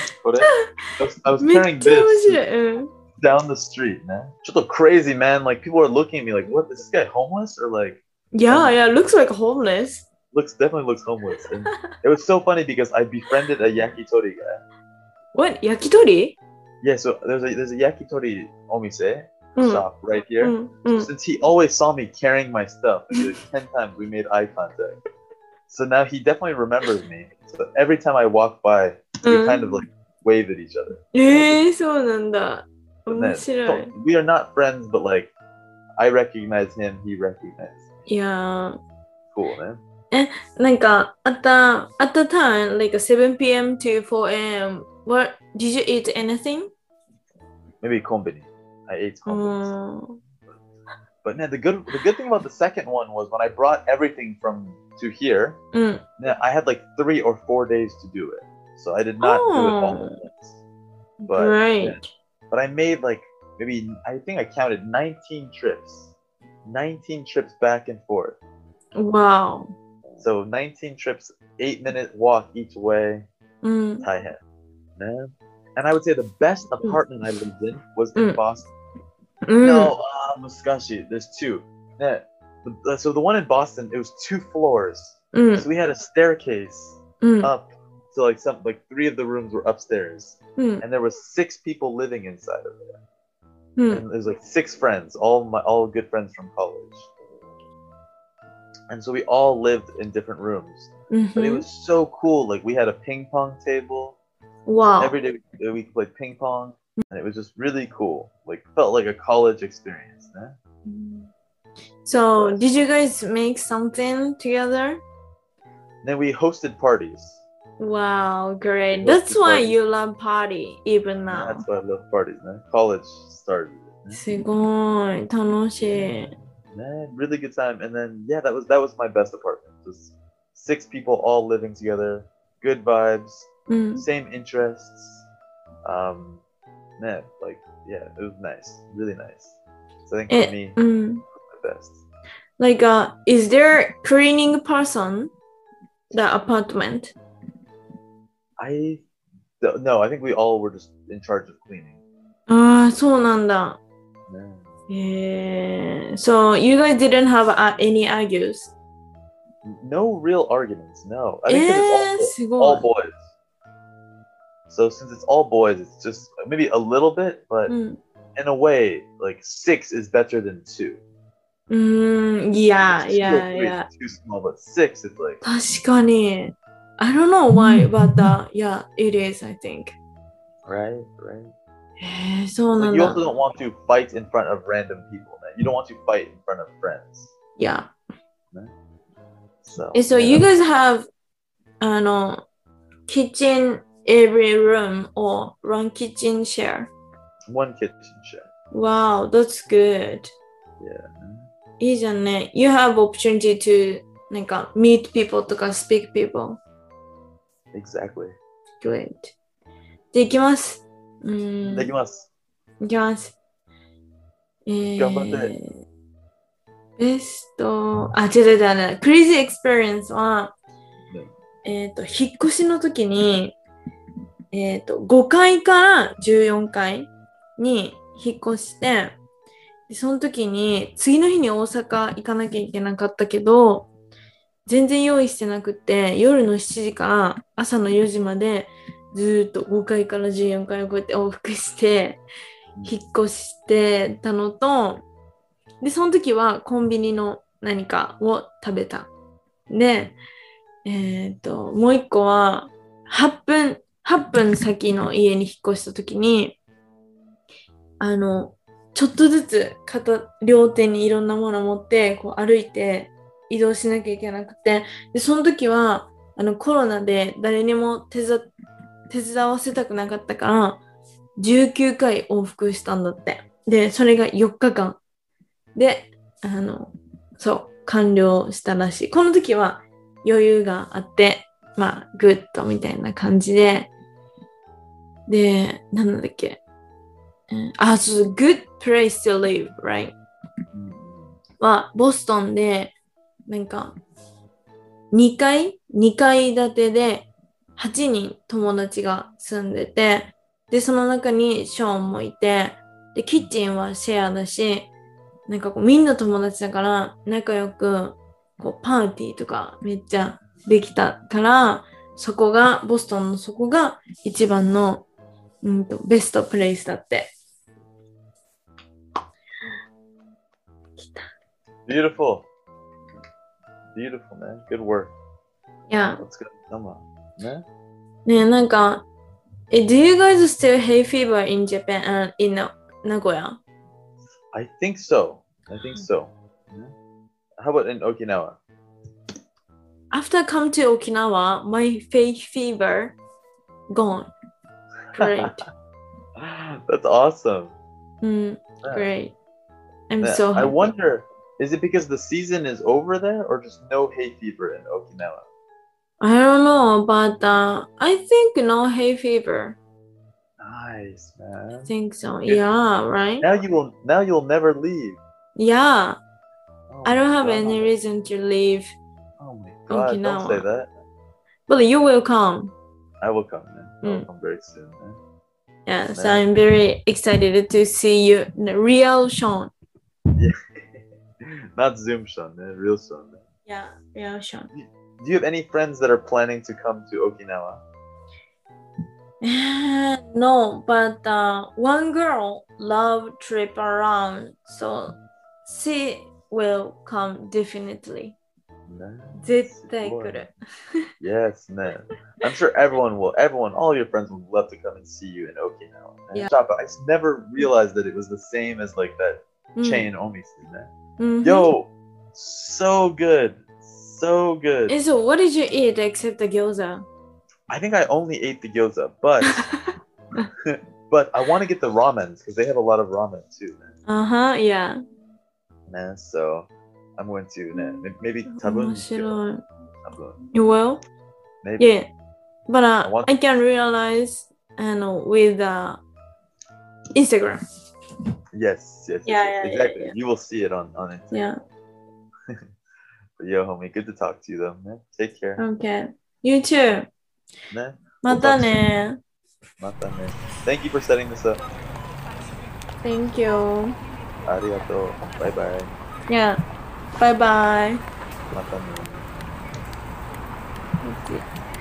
I was carrying this down the street, man. Just crazy, man. Like people are looking at me like, what? Is this guy homeless or like? Yeah, looks like homeless. Definitely looks homeless. And it was so funny because I befriended a yakitori guy. What? Yakitori? Yeah, so there's a yakitori omise shop right here. So since he always saw me carrying my stuff, like 10 times we made eye contact. So now he definitely remembers me. So every time I walk by, we kind of like wave at each other. そうなんだ。面白い。 We are not friends, but like I recognize him, he recognizes me. Yeah. Cool, man. なんか at the time, like 7 p.m. to 4 a.m., what did you eat anything? Maybe konbini. I ate konbini. But the good thing about the second one was when I brought everything to here, I had like 3 or 4 days to do it. So I did not do it all at once. But, right. But I made like maybe, I think I counted 19 trips. 19 trips back and forth. Wow. So 19 trips, 8-minute walk each way. Taihen. Man. And I would say the best apartment I lived in was in Boston. No, Muskashi. There's 2. So the one in Boston, it was 2 floors. So we had a staircase up. So like 3 of the rooms were upstairs. And there was 6 people living inside of there. And there's like 6 friends, all good friends from college. And so we all lived in different rooms. But it was so cool. Like we had a ping pong table. Wow. So every day we played ping pong. And it was just really cool. Like felt like a college experience. So did you guys make something together? Then we hosted parties. Wow, great. We That's hosted why parties. you love party even now. That's why I love parties, man. College started. すごい楽しい。 Man, really good time. And then yeah, that was my best apartment. Just 6 people all living together, good vibes, same interests. Man, like yeah, it was nice, really nice. So I think for me, it was my best. Like, is there cleaning person the apartment? No, I think we all were just in charge of cleaning. ああ、そうなんだ。 Yeah. So you guys didn't have any argues? No real arguments, no. I think because it's all boys. So since it's all boys, it's just maybe a little bit, but in a way, like 6 is better than 2. Yeah. It's too small, but 6 is like. 確かに。I don't know why, but yeah, it is, I think. Right. そうなん Like だ。 you also don't want to fight in front of random people, man. You don't want to fight in front of friends. Yeah. So yeah. You guys have kitchen every room or one kitchen share? One kitchen share. Wow, that's good. Yeah. いいじゃんね。You have opportunity to なんか meet people とか speak people. Exactly. Great. じゃあ行きます。 できます。 いきます。 頑張って。 ベスト、違う。クレイジーエクスペリエンスは、引っ越しの時に、5階から14階に引っ越して、でその時に次の日に大阪行かなきゃいけなかったけど、全然用意してなくて、夜の7時から朝の4時までずっと5階から14階をこうやって往復して引っ越してたのと、でその時はコンビニの何かを食べた。で、もう一個は8分先の家に引っ越した時にちょっとずつ両手にいろんなものを持ってこう歩いて移動しなきゃいけなくて、でその時はコロナで誰にも手伝わせたくなかったから19回往復したんだって。でそれが4日間でそう完了したらしい。この時は余裕があってまあグッドみたいな感じで、なんだっけ、そう、good place to live, right? はボストンでなんか2階建てで8人友達が住んでて、でその中にショーンもいて、でキッチンはシェアだし、なんかこうみんな友達だから仲良くこうパーティーとかめっちゃできたから、ボストンのそこが一番のベストプレイスだって。 Beautiful, man. Good work. Yeah. Let's go. Come on, man. ね、なんかdo you guys still hay fever in Japan in Nagoya? I think so. How about in Okinawa? After come to Okinawa, my hay fever gone. Great. That's awesome. Great. I'm so happy. I wonder, is it because the season is over there or just no hay fever in Okinawa? I don't know, but I think no hay fever. Nice, man. I think so. Yeah, right? Now you'll never leave. Yeah. I don't have any reason to leave. Oh my god, Okinawa. don't say that. But you will come. I will come, man. I will come very soon, man. Yeah, man. So I'm very excited to see you, the real Sean. Yeah. Not Zoom Sean, man. Real Sean, man. Yeah, real Sean. Do you have any friends that are planning to come to Okinawa? No, but one girl love trip around, so she will come definitely. Nice. Yes, man. I'm sure everyone, all your friends would love to come and see you in Okinawa. Man. Yeah. I never realized that it was the same as like that chain Omisu, man. Yo, so good. so good. And so, what did you eat except the gyoza? I think I only ate the gyoza, but but I want to get the ramens because they have a lot of ramen too, man. Yeah. Man, so I'm going to maybe tabun. 面白い. Tabun. You will? Maybe. Yeah. But want- I can realize with Instagram. Yes. Yeah, exactly. yeah. You will see it on Instagram. Yeah. But yo, homie, good to talk to you though, man. Take care. Okay. You too. ね。 またね。 またね。Thank you for setting this up. Thank you. ありがとう。バイバイ。 Yeah. Bye bye. またね。 Okay.